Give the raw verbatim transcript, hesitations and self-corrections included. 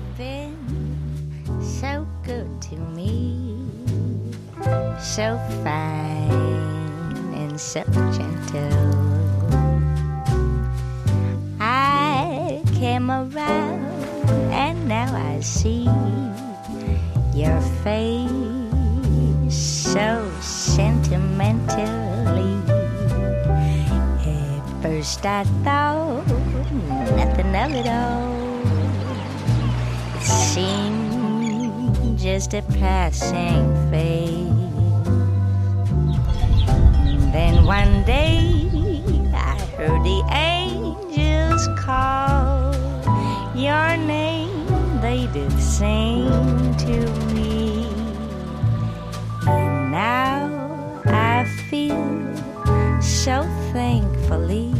been so good to me, so fine and so gentle. I came around and now I see your face so sentimentally. At first I thought nothing of it all. It seemed just a passing phase. Then one day I heard the angels call your name, they did sing to me. And now I feel so thankfully